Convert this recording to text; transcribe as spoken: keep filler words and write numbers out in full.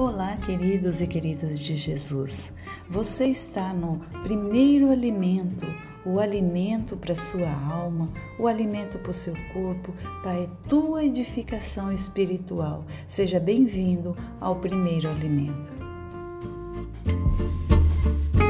Olá, queridos e queridas de Jesus. Você está no primeiro alimento, o alimento para a sua alma, o alimento para o seu corpo, para a tua edificação espiritual. Seja bem-vindo ao primeiro alimento.